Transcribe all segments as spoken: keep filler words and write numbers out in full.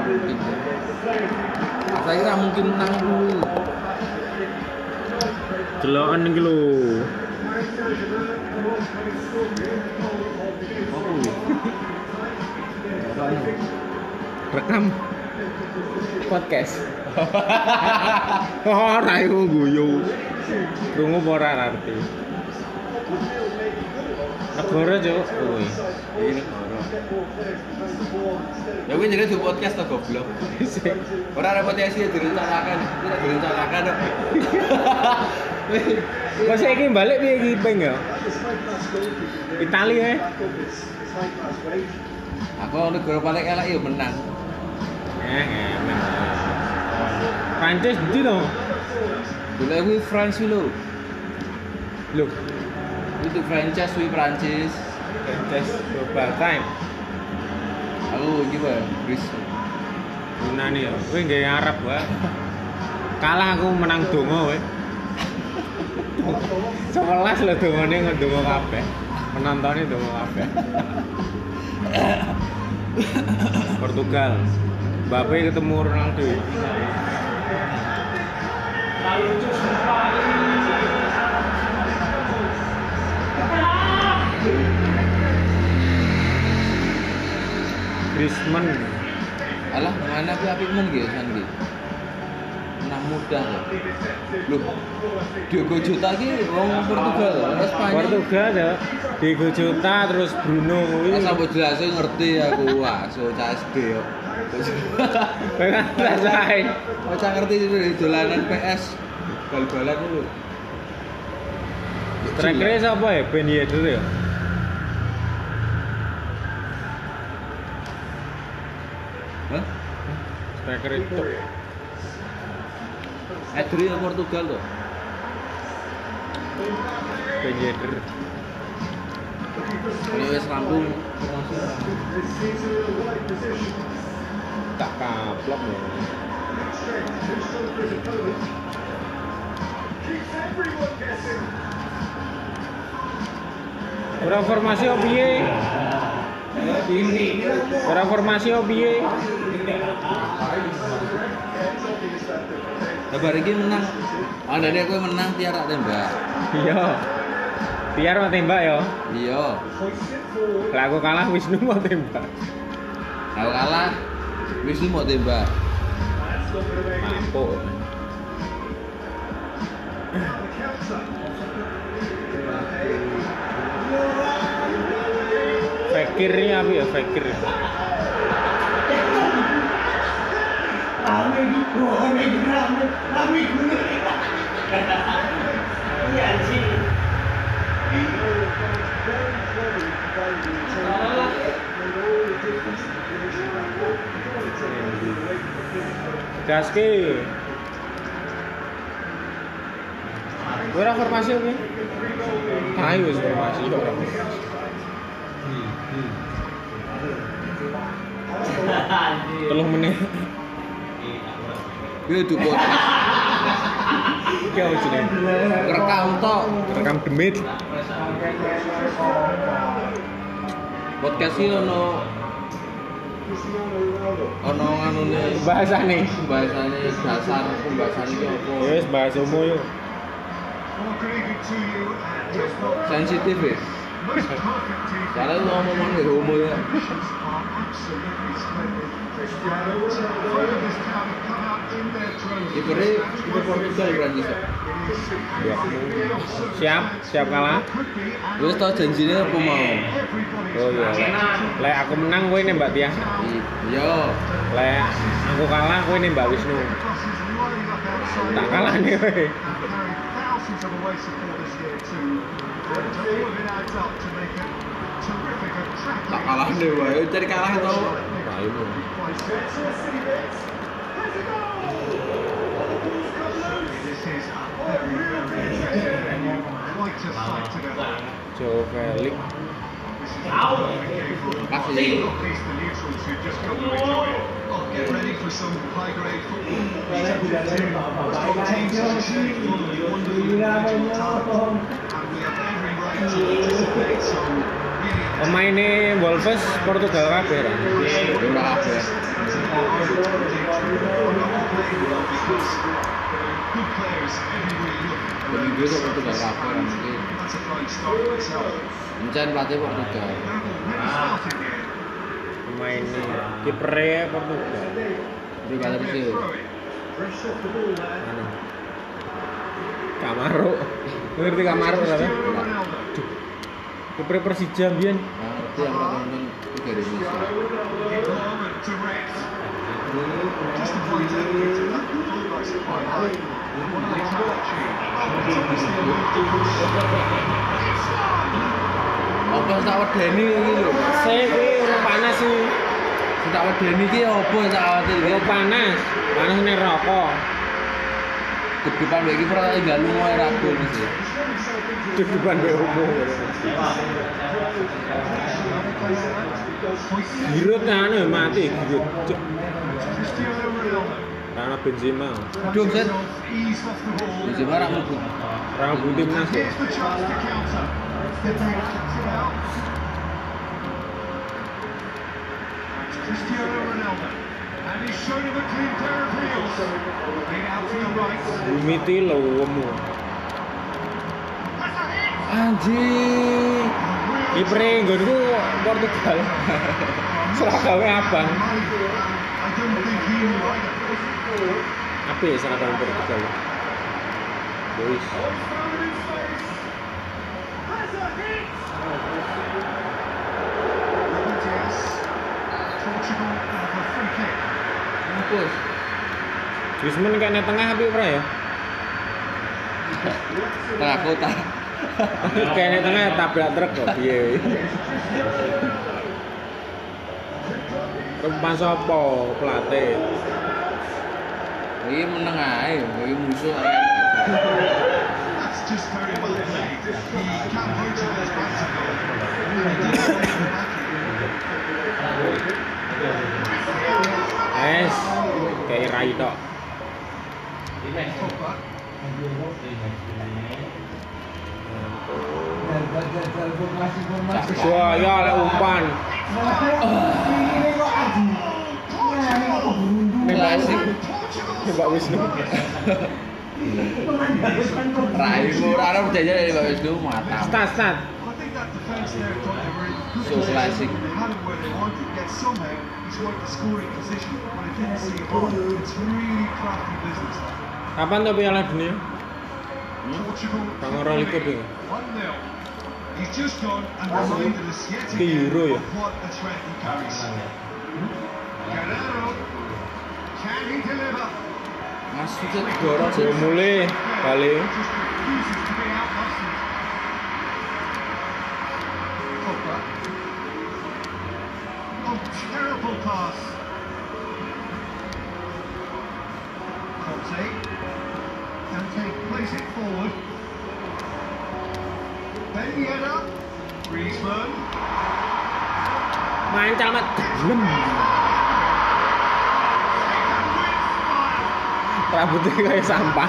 mungkin. Saya kira mungkin menang dulu. Deloken iki lho. Rekam podcast. Ora iku guyu. Krungu apa ora ngerti. Negara cuk kuwi. Iki negara. Ya kuwi jenenge di podcast to goblok. Ora ada potensi direncanakan, tidak direncanakan kok. Kok saiki balik piye iki ping ya? Itali ae. Aku negara paling elek ya menang. Eh, emen. Prancis ndi to? Dulu kuwi France lho. Lho, Itu franchise kuwi Prancis. Prancis global time. Aku iki wae, Gris. Yunani ya. Kowe nggawe Arab wae. Kalah aku menang donga kowe. sebelas lho dongane ndonga kabeh. Penontonnya ndonga kabeh. Portugal. Mbappe ketemu Ronaldo. Griezmann. Alah, mana kuwi apik men nggih san nggih. Menang mudah lho. Loh, Diogo Jota iki wong Portugal, orang Spanyol. Portugal ya. Diogo Jota terus Bruno kuwi. Wis sampe jelas ngerti aku, wah, so C S D yo. Kowe kan rasae. Ora ngerti di dolanan P S. Bal-balan itu lho. Striker sapa ya? Ben Yedder ya. Hah? Striker itu. Adri Portugal tuh. Ben Yedder. Ini wis rampung. Tak kaplok ya. Ora formasi opo piye? Ora formasi opo piye? Kabar iki menang. Andane kowe menang tiar tak tembak. Iya. Biar mau tembak ya. Iya. Lah aku kalah Wisnu mau tembak. Kalau kalah Wisnu mau tembak. Mampu. Fakirnya apa ya fakir? Gaske. Ora formasi oke. Ayo wis formasi ora. Hmm. Telung menit. Kuwi dukun. Iki apa jenenge? Rekam tok. Rekam demit. Podcast iki ono ono nganune Bahasane. bahasane dasar pembahasan iki apa? Ya wis bahas umum yo. Sensitif ya? Karena lu ngomong dari umur ya. Ibaratnya itu Portugal Prancis ya? Siap, siap kalah. Gue tau janjinya apa mau? Oh iya. Lek aku menang kowe nembak biasa. Iya. Lek aku kalah kowe nembak Wisnu. Tak kalah nih kowe. Tak kalah deh, wae. Cari kalah tau. Ayo. Joe Felix. Kasih. Get ready for some high-grade football. Teams are succeed full of wonderful individual talent, and we have every right to participate. So really, Pemainnya Wolves Portugal kabeh ra. Ora kabeh. Good players everywhere you look. Minggu itu Portugal kafe mungkin. That's a fine start in itself. Mencari pelatih Portugal. Pemain ini kipernya Portugal. Di kata sih. Mana? Kamaro. Ngerti Kamaro kan? Kiper Persija mbiyen. Nah, itu yang nonton Liga Indonesia. Just to point out that the fullbacks are quite high. What are they trying to achieve? Apa tak wedeni iki lho. Saya kuwi ora panas sih. Tak wedeni iki apa tak awate iki? Ora panas. Panas ning rokok. Kedepan iki ora tinggal lunga ora gol sih. Kedepan wae opo. Giroud kan mati Giroud. Cristiano Ronaldo. Karena Benzema. Dong set. Ease off the ball. Benzema ra mlebu. Rambut timnas ya. Here's the chance to counter. Kicks it out. That's Cristiano Ronaldo. And he's shown him a clean pair of heels. Played out to the right. Bumi tilemu. Anjing. Kipre nggonku Portugal. Seragame abang. I don't think he knew either. Apa ya seragam Portugal? Boys. Portugal have a free kick. Mampus. Griezmann kayaknya tengah apa ora ya? Tengah kota. Kayaknya tengah tabrak truk kok piye. Rumah sapa pelatih? Iki meneng ae, iki musuh ae. That's just very well played. He can't vote to this back to goal. Es, kayak rai tok. Pogba. Wah, ya lek umpan. Klasik. Mbak Wisnu. Rai ora ora percaya dari Mbak Wisnu mata. Start start. I think that defence there thought they were in good So position. classic. They had it where they wanted, yet somehow he's worked the scoring position, but I didn't see it all. It's really crafty business. Kapan tuh Piala Dunia? Portugal Tanggal orang likur deh. one nil. He's just gone and reminded us yet Ke again Euro ya? of what a threat he carries. Guerrero, can he deliver? Masuknya dorong sih. Udah mulai balik. Just refuses to be outmuscled. Pogba. Oh, terrible pass. Conte. Dante plays it forward. Ben Yedder. Griezmann. Main camat. Lem. Rambutnya kayak sampah.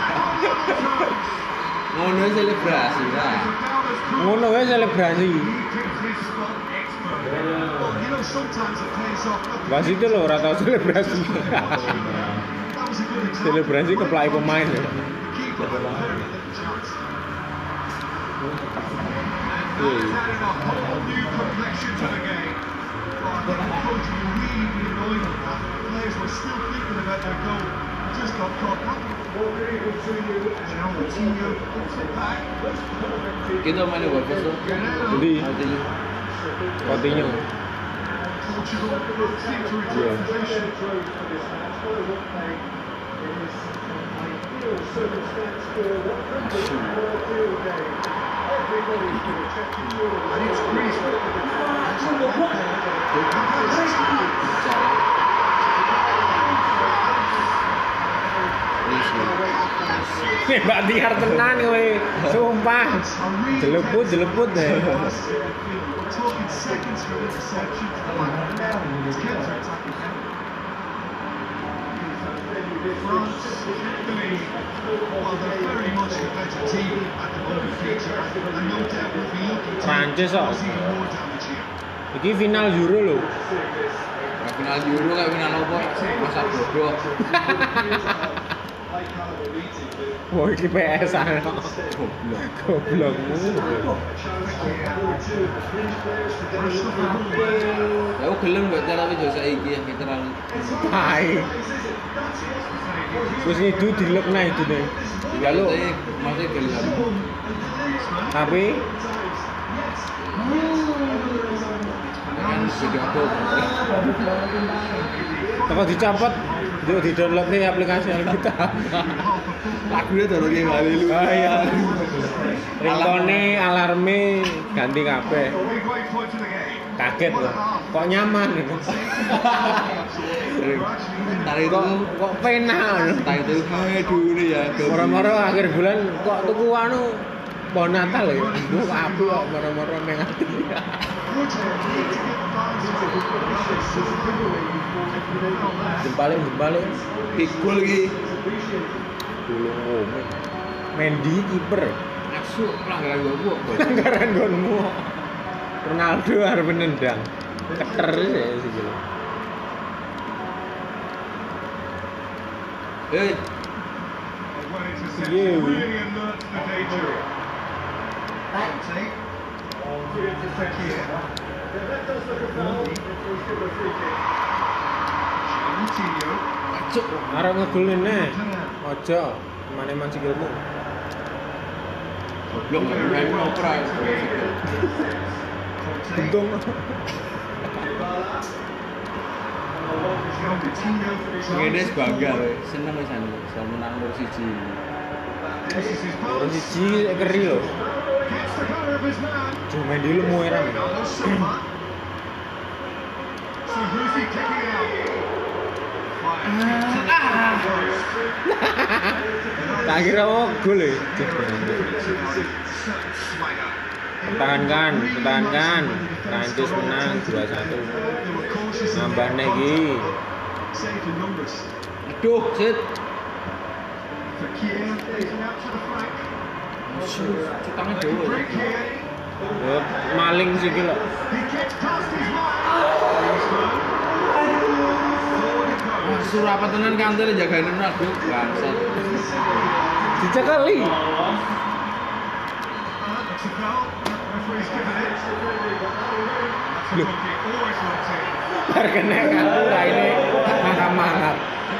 Ngono selebrasi lah. Ngono wae selebrasi. You know, sometimes it pays off. Look, Mas itu loh ora tau selebrasi. that was a good example. Selebrasi keplai pemain ya. The keeper had a very little chance. And that's added a whole new complexion to the game. Oh, I think the coach will really be annoyed with that. The players were still thinking about their goal. Just got caught up. And now Coutinho puts it back. Kita main di Wolves tuh. Guerrero. Jadi Artinya Coutinho. Portugal seem to retain Yeah. possession. And it's Griezmann. Nih Mbak Tiar tenan kowe. Sumpah. Jeleput jeleput deh. We're talking seconds from interception to the back of the net. It's counter-attacking now. France, Italy, well, they're very much the better team at the moment, Peter, and no doubt will be looking to Prancis kok. cause even more damage here. Iki final Euro loh. Kayak final Euro kayak final apa? Masa bodoh. Wah, iki P S ana. Goblok. Goblokmu. Ya aku gelem mbak tapi jauh saiki ya kita terlalu. Tai. Wis ngidu dilekna idune. Lalu masih gelem. tapi Kan video aku. kalau dicopot yuk di download nih aplikasi Alkitab. Lagunya terus kayak kali lu. Ah iya. Ringtone, alarme ganti kabeh. Kaget loh. Kok nyaman gitu. Tadi itu Kok kok penak. tadi itu aduh ini ya. Moro-moro akhir bulan kok tuku anu pohon Natal ya. Duh api kok moro-moro nang ati. Jempale jempale Pikul lagi. dulu Mendy kiper. Asu pelanggaran gua gua. Pelanggaran gonmu. Ronaldo harus menendang. Keter ya sih gitu. Eh, Yeah. Really alert to the danger. Take. Coutinho. acuk. Arep ngegolin nih. Ojo, mana-mana sikilmu. Goblok main opera. Untung. Ngene bangga we. Seneng wisan iso menang nomor siji. Terus siji keri lho. Cuma di lu mau era. So who's he kicking out? Tak kira mau gol ya. Pertahankan, pertahankan. Prancis menang dua satu. Nambah lagi. Aduh, sit. Cutangnya dewe. Ya, maling sih gila. Surapa tenan kantor jagain Ronaldo bangsat. Dicekali. Loh. Bar kena kartu raine mangap-mangap.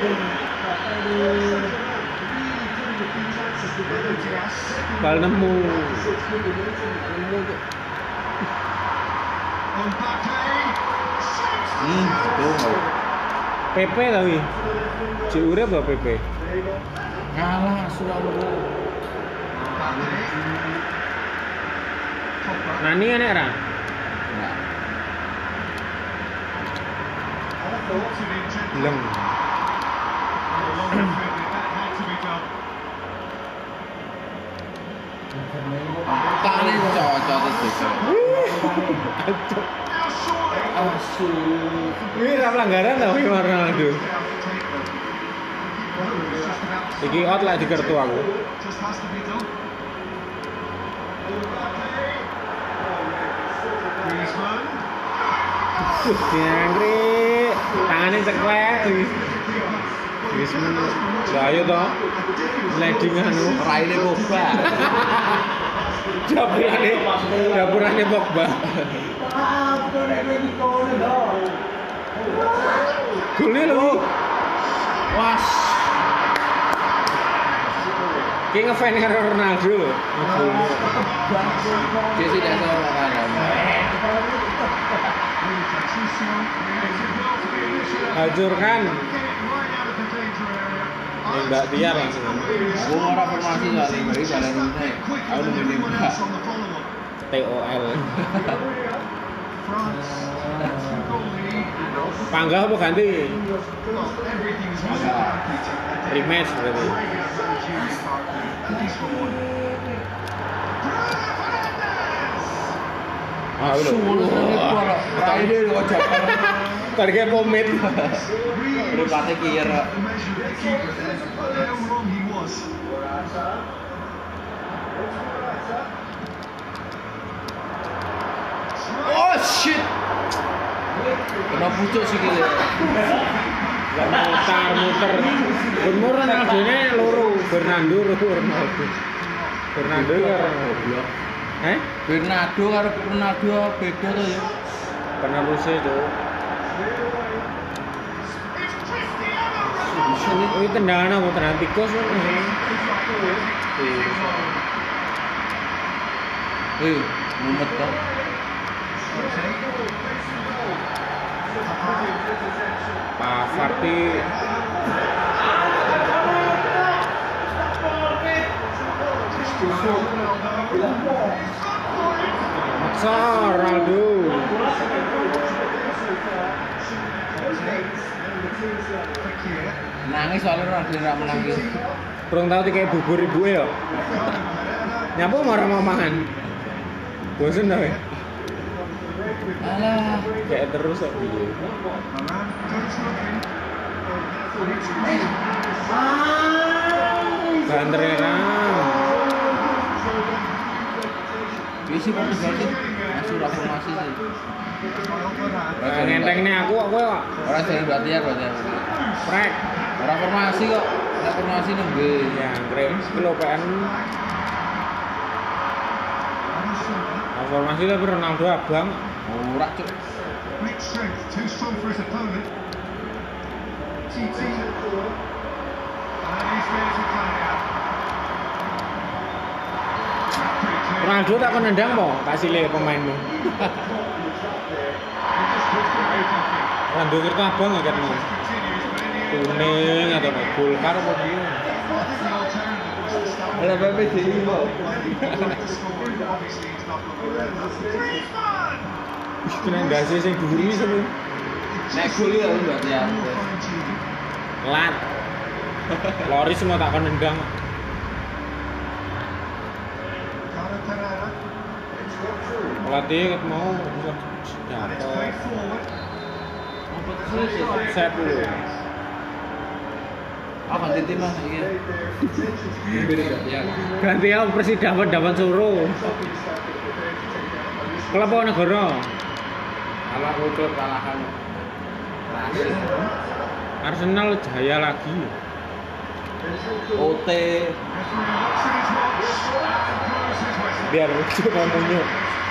Bal nemu. Nemu kok. Hmm, betul. P P tapi. Cek urip lho P P. Ngalah Surabaya. Nani enek ra? Enggak. Belum. Tane cocok itu. Asu. Ini ra pelanggaran ta iki Ronaldo. Iki out lah di kartu aku. Diangkrik, tangannya ceklek. Griezmann, lah ayo toh, sliding anu. Raine Pogba. Dapurane, dapurane Pogba. Golnya lho. Was. Ki ngefan karo Ronaldo lho. Dia sih tidak tahu makanan. Hancurkan. Nembak tiar langsung. Aku mau reformasi soal ini bagi badan ini. Aku nunggu nembak. T O L. Panggah apa ganti? Rematch berarti. Ah, udah. Raine kocok. Target pomit. Berpate kira. Oh shit. Kena pucuk sikile. Mutar muter. Umur Ronaldo ini loro, Bernardo Ronaldo. Bernardo karo goblok. Eh? Bernardo karo Ronaldo beda to ya. Penerusnya itu. Ini tendangan apa tendangan tikus kan? Eh, mumet kan. Pak Farti maksa Ronaldo. Nangis soalnya Ronaldo ora menang iki. Kurang tahu tiga bubur ibu ya. Nyapu marah mau mangan. Bosen dah. Alah, Kayak terus kok piye. Banteran. isi Portugal sih masuk reformasi sih. Nah, ngenteng nih aku aku kok. Orang sering berarti ya berarti. Prek. Orang formasi kok. Reformasi nembe. Ya, keren. Kilo P N. Formasi tapi Ronaldo abang. Ora cuk. Great strength, too strong for his opponent. T T. And he's ready to play out. Ronaldo tak kau nendang mau kasih le pemainmu. Ronaldo kita abang nggak kan? Kuning atau kayak Golkar apa dia? Ada P P J mau. Kena gasi sing dhuwur iki seru. Nek gol ya berarti ya. Lat. Lori semua tak kon nendang. Pelatih ket mau dapat. Set dulu. Ah ganti tim Mas iki. Ganti ya Persi dapat dapat suruh. Klub apa negara? Kalah klub kalahan. Arsenal jaya lagi. O T Biar lucu ngomongnya.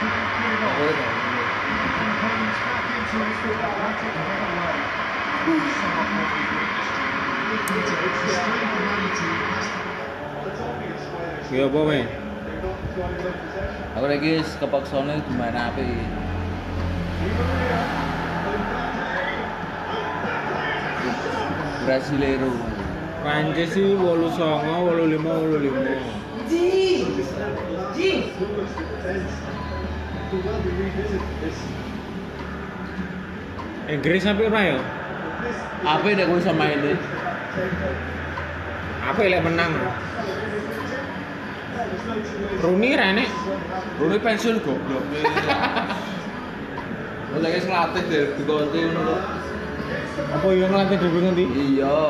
Ya apa men? Aku lagi kepaksane gimana apa iki? Brasileiro. Prancis sih wolu songo, wolu lima, wolu lima. Ji, ji. Inggris sampai ora ya? Apa nek kowe sama ini? Apa lek menang? Rooney rene. Rooney pensiun goblok. Wong lagi ngelatih derby konti ngono kok. Apa yang ngelatih dhewe ngendi? Iya.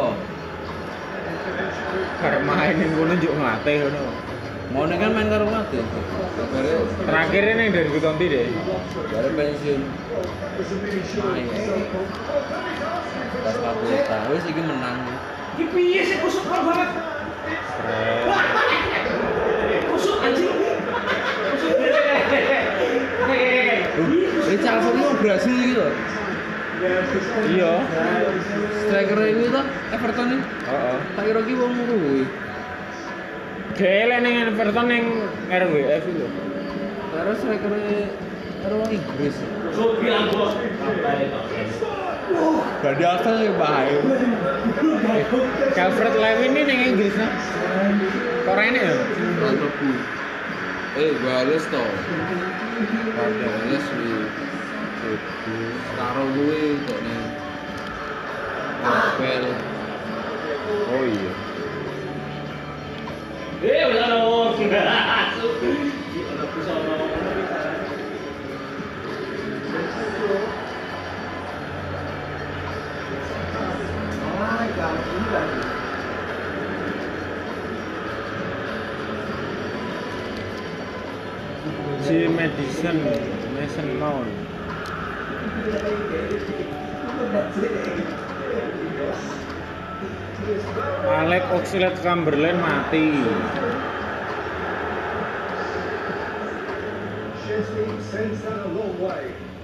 Karep main ning kono njuk ngelatih ngono. Mau nih kan main karo ngelatih. Bare Terakhir ini dari Gutonti deh. bare pensiun. Main. Pas Kapolta wis iki menang. Ki piye sih kusuk banget. Keren. Kusuk anjing. Kusuk. Eh Calvert iki wong Brasil iki lho. Iya. Striker iki to Everton iki. Heeh. Tak kira ki wong kuwi. Gele ning Everton ning R W F itu. Karo striker karo wong Inggris. Kusuk bilang bos. Berarti Arsenal yang bahaya. Calvert Lewin ini ning Inggris nah. Kok rene ya? Mantapku. Eh, Wales to. Wales wi. Karo gue kok nih. Apel. Oh iya. Eh, udah dong. Udah kusono. Si Madison, Mason Mount. Alex Oxlade-Chamberlain mati. Chesney sends that a long way.